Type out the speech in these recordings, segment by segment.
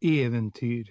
Eventyr.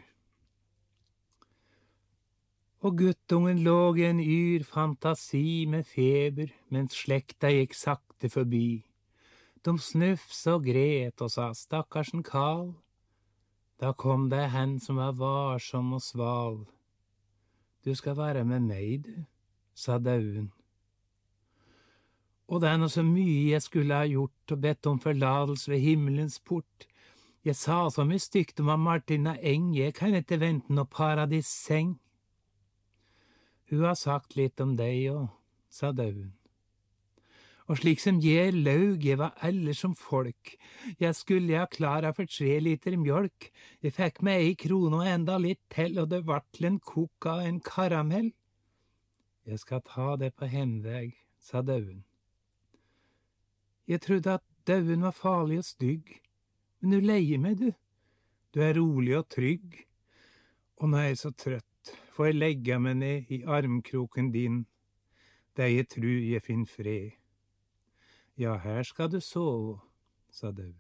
Og guttungen lå i en yr fantasi med feber, mens slekta gikk sakte forbi. De snufsa og gret og sa, stakkarsen Karl. Da kom det hen som var varsom og sval. Du skal være med meg, du, sa dauen. Og det er noe så mye jeg skulle ha gjort og bedt om forladelse ved himmelens port. Jeg sa så mye stygt om Martina Eng, jeg kan ikke vente noe paradisseng. Hun har sagt litt om deg òg, sa dauen. Og slik som jeg laug, jeg var ellers som folk. Jeg skulle ha klara for 3 liter mjølk. Jeg fikk meg 1 krone og enda litt til, og det vart til en kokk av en karamell. Jeg skal ta det på hemveg, sa dauen. Jeg trodde at dauen var farlig og stygg, men du leier meg, du. Du er rolig og trygg. Og nå er jeg så trøtt, får jeg legge meg ned i armkroken din, der jeg tror jeg finner fred. Ja, her skal du sove, sa dauen.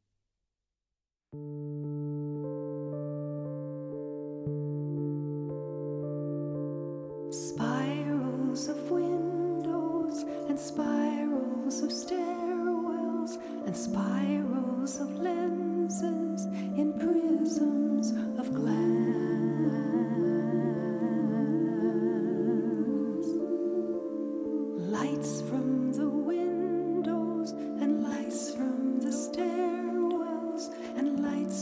Spirals of windows and spirals of stairwells and spirals of lenses in prisms of glass. Lights from the windows and lights from the stairwells and lights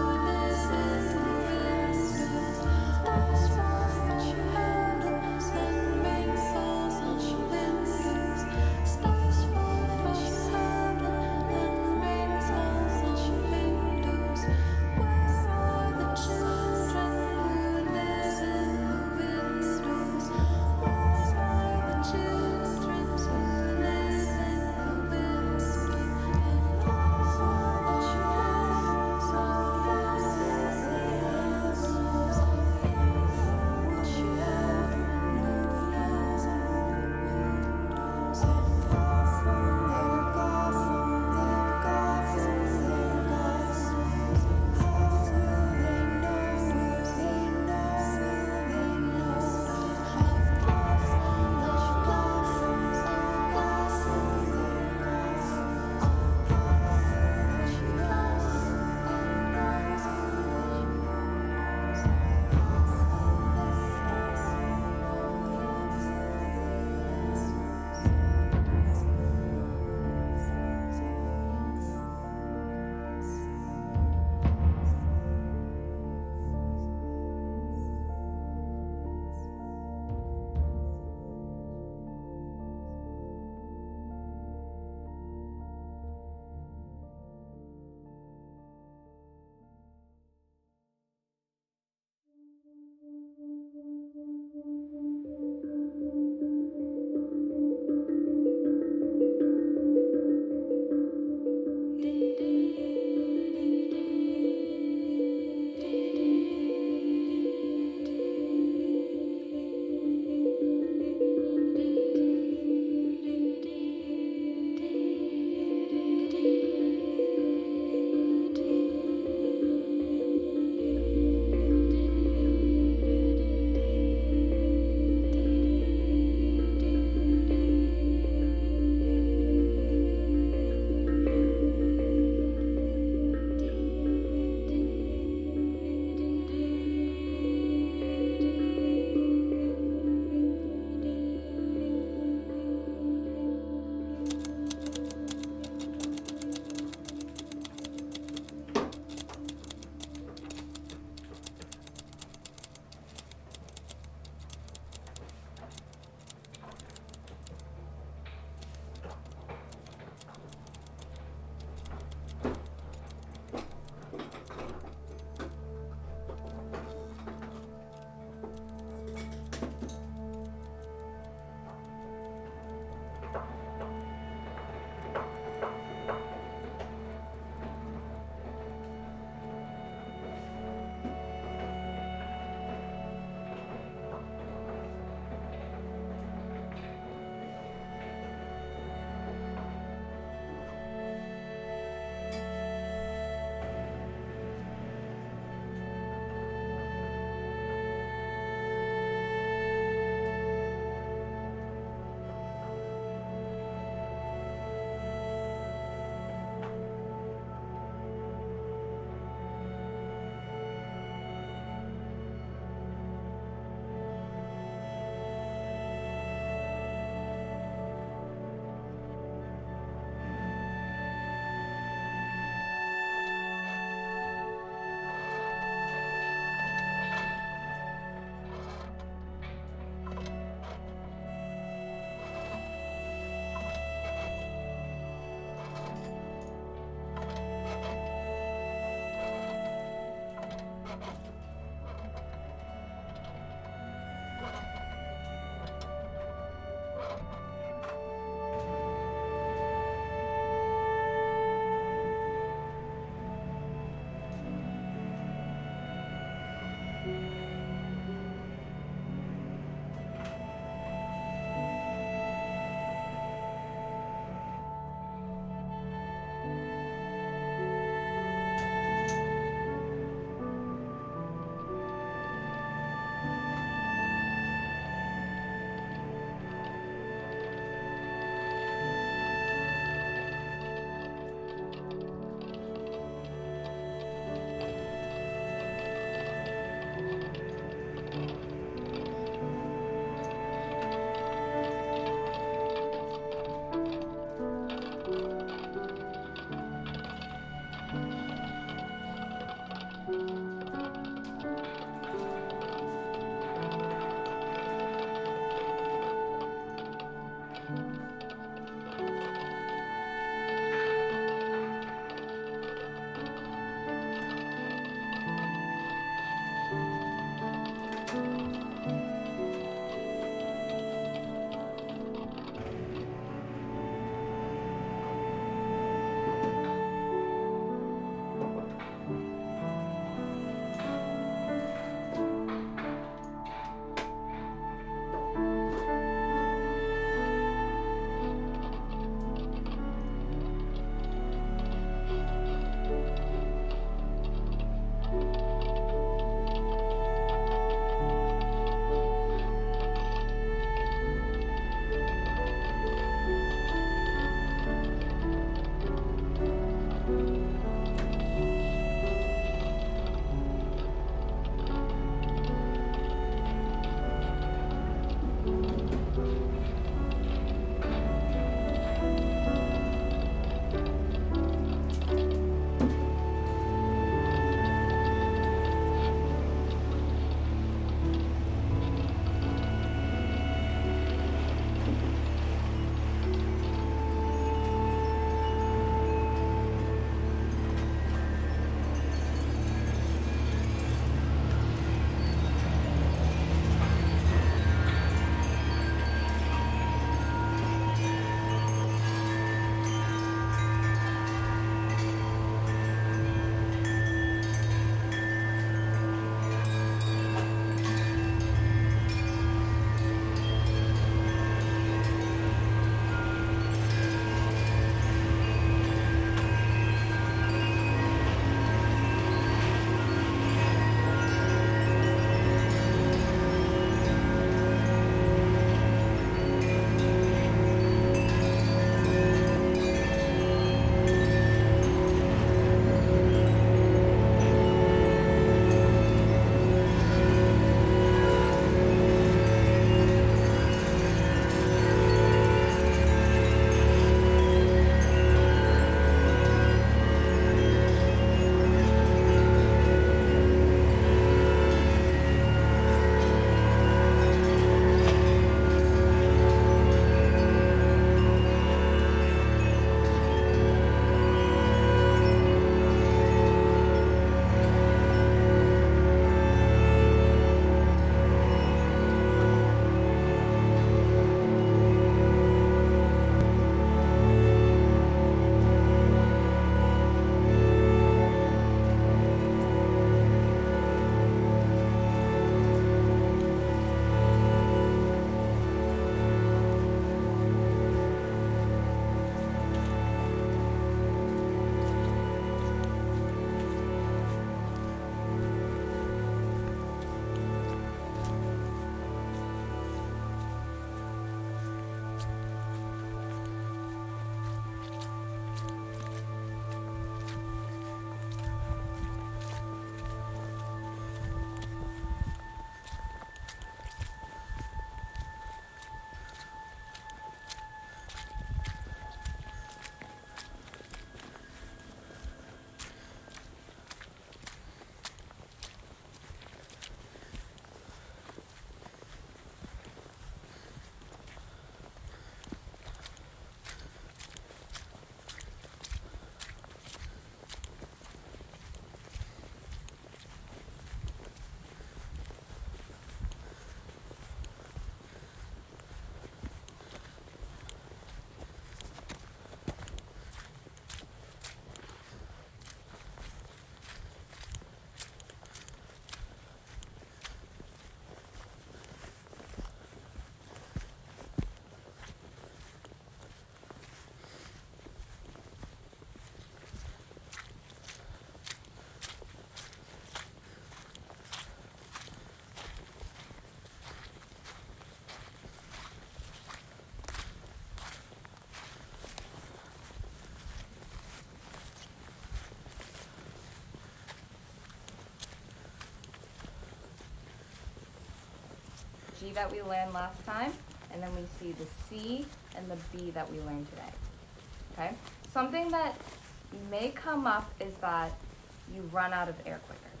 G that we learned last time, and then we see the C and the B that we learned today. Okay? Something that may come up is that you run out of air quicker.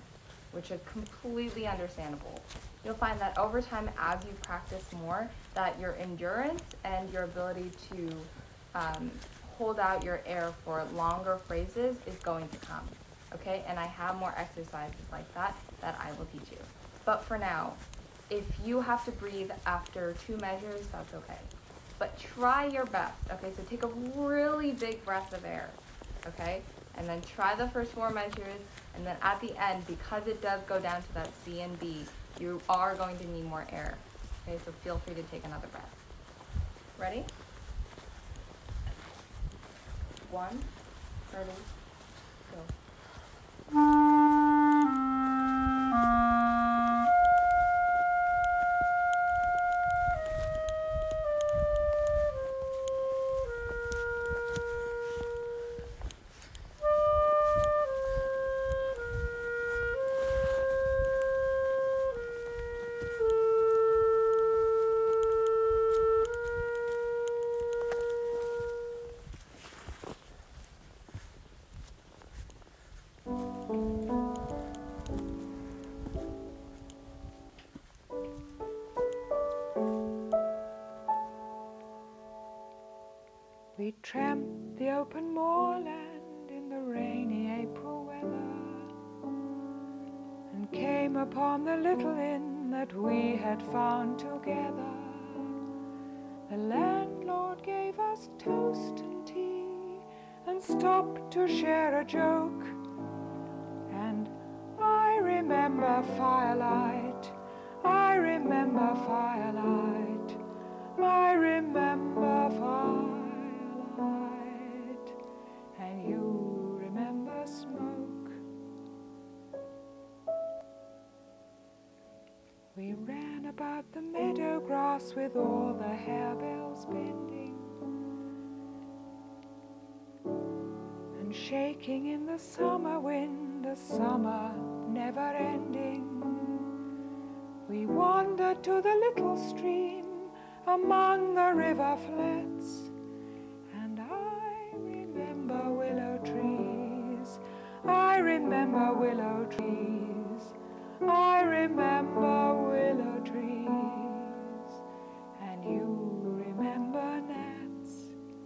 which is completely understandable. You'll find that over time, as you practice more, that your endurance and your ability to hold out your air for longer phrases is going to come, okay? And I have more exercises like that I will teach you. But for now, if you have to breathe after 2 measures, that's okay. But try your best, okay? So take a really big breath of air, okay? And then try the first 4 measures, and then at the end, because it does go down to that C and B, you are going to need more air, okay? So feel free to take another breath. Ready? 1, ready, go. We tramped the open moorland in the rainy April weather and came upon the little inn that we had found together. The landlord gave us toast and tea and stopped to share a joke. And I remember firelight, I remember firelight, I remember firelight. And you remember smoke. We ran about the meadow grass with all the harebells bending and shaking in the summer wind, the summer never ending. We wandered to the little stream among the river flats, and I remember willow trees, I remember willow trees, I remember willow trees, and you remember gnats.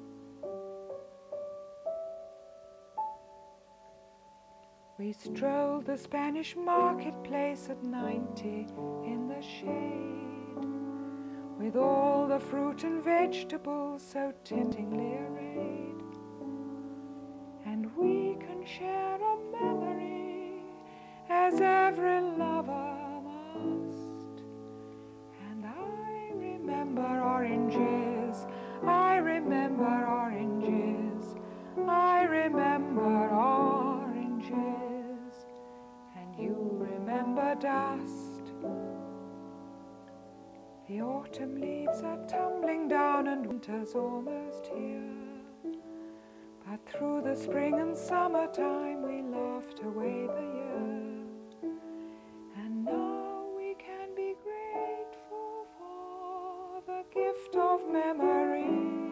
We strolled the Spanish marketplace at 90 in the shade, with all the fruit and vegetables so temptingly arrayed. And we can share a memory as every lover must. And I remember oranges, I remember oranges, I remember oranges, and you remember dust. The autumn leaves are tumbling down and winter's almost here. But through the spring and summertime we laughed away the year. And now we can be grateful for the gift of memory.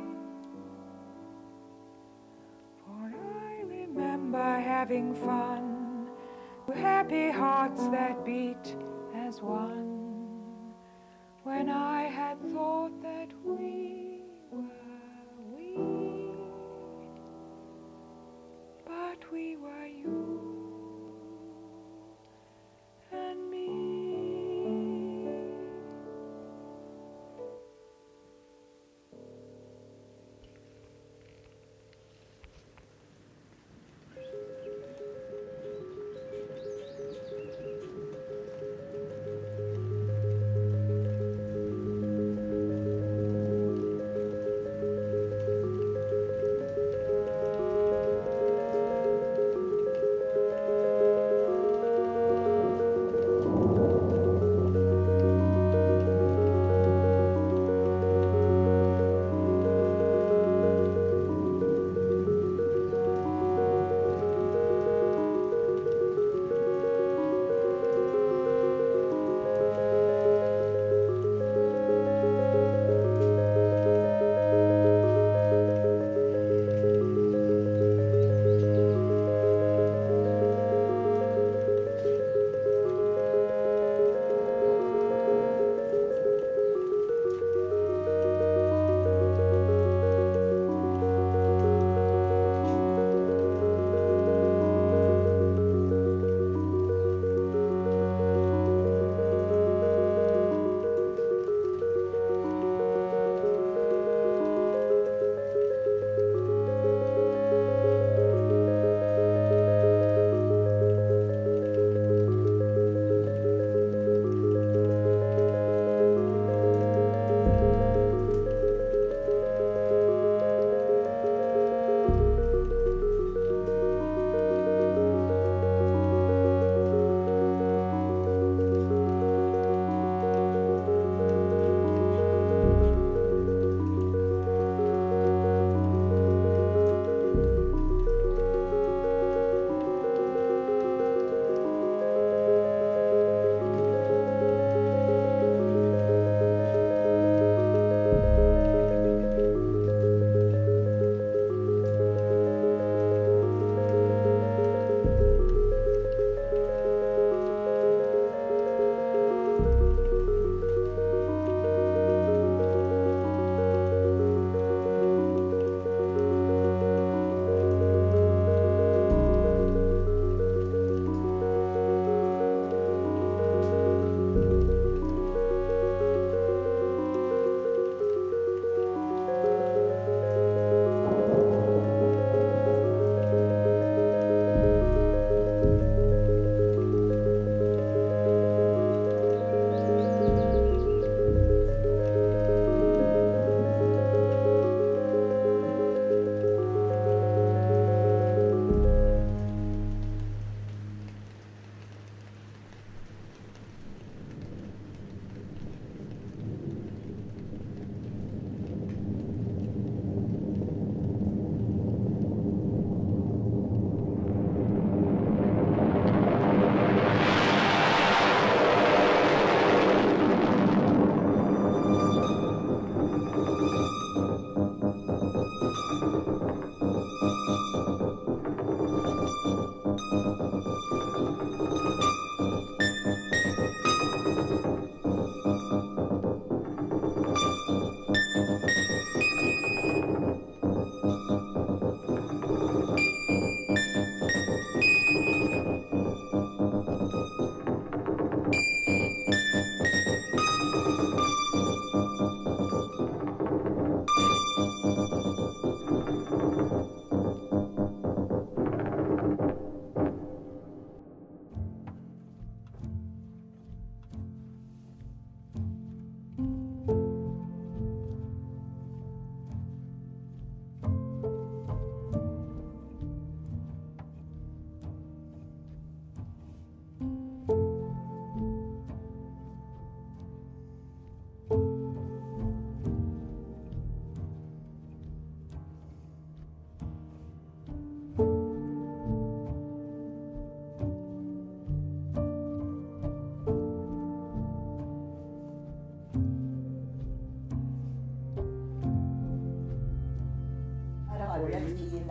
For I remember having fun, happy hearts that beat as one, when I had thought that we were we, but we were you and me.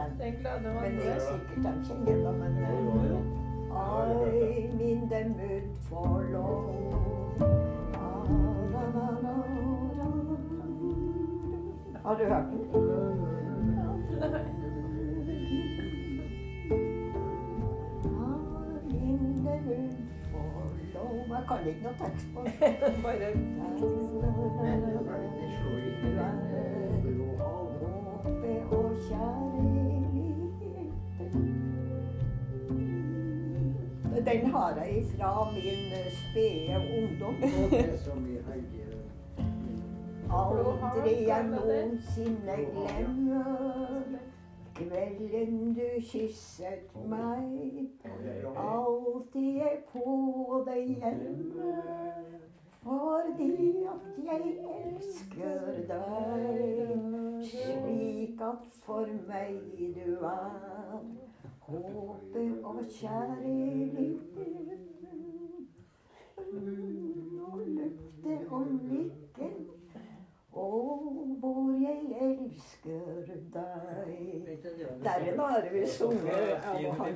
den. Den glade man Men det er dør. sikkert de kjenner det, men I'm in the mood for love. Har du hørt den? I'm in the mood for love. Jeg kan ikke noe tekst på den. Bare Håpe og kjærlighet. Den har jeg fra min spede ungdom. Aldri jeg noensinne glemmer kvelden du kysset meg. Alltid jeg på deg hjemme, fordi at jeg elsker deg. Slik at for meg du er håpet og kjærligheten. Og løftet om lykken, og hvor jeg elsker deg. Der har vi sunget av han.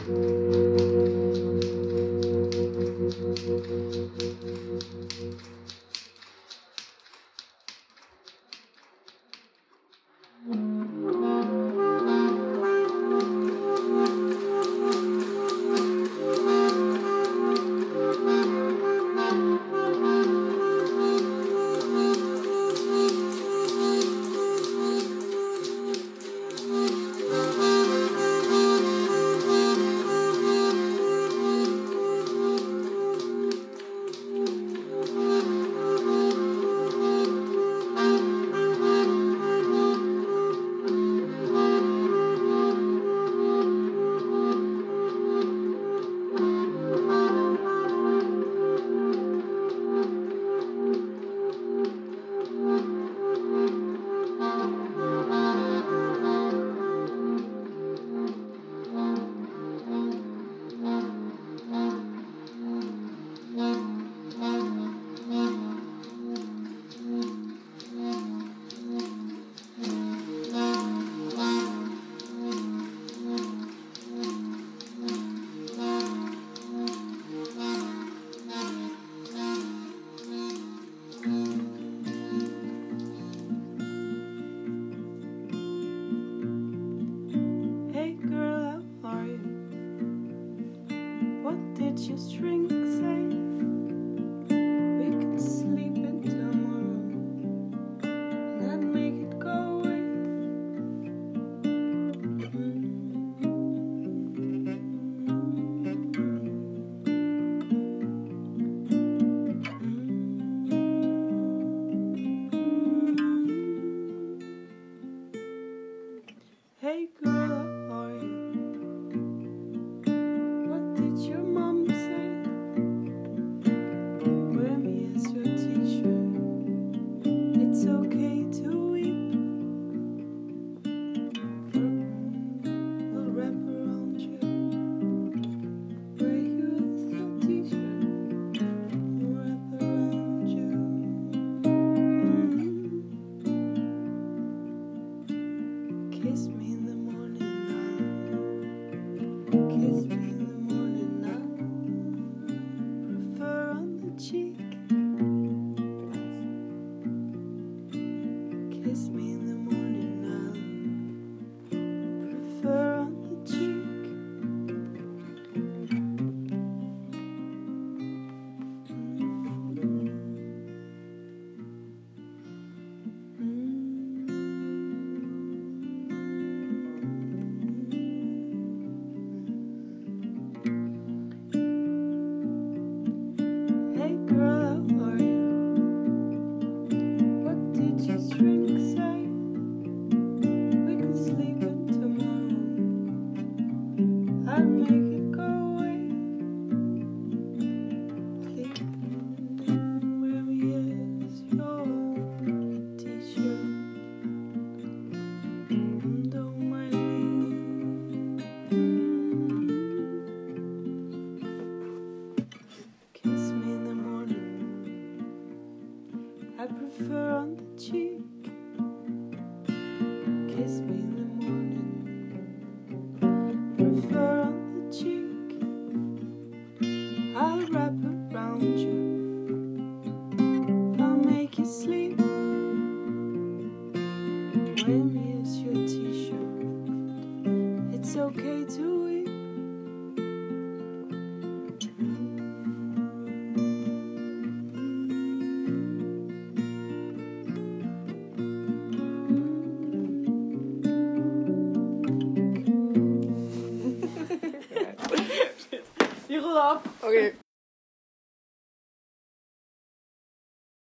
Okay.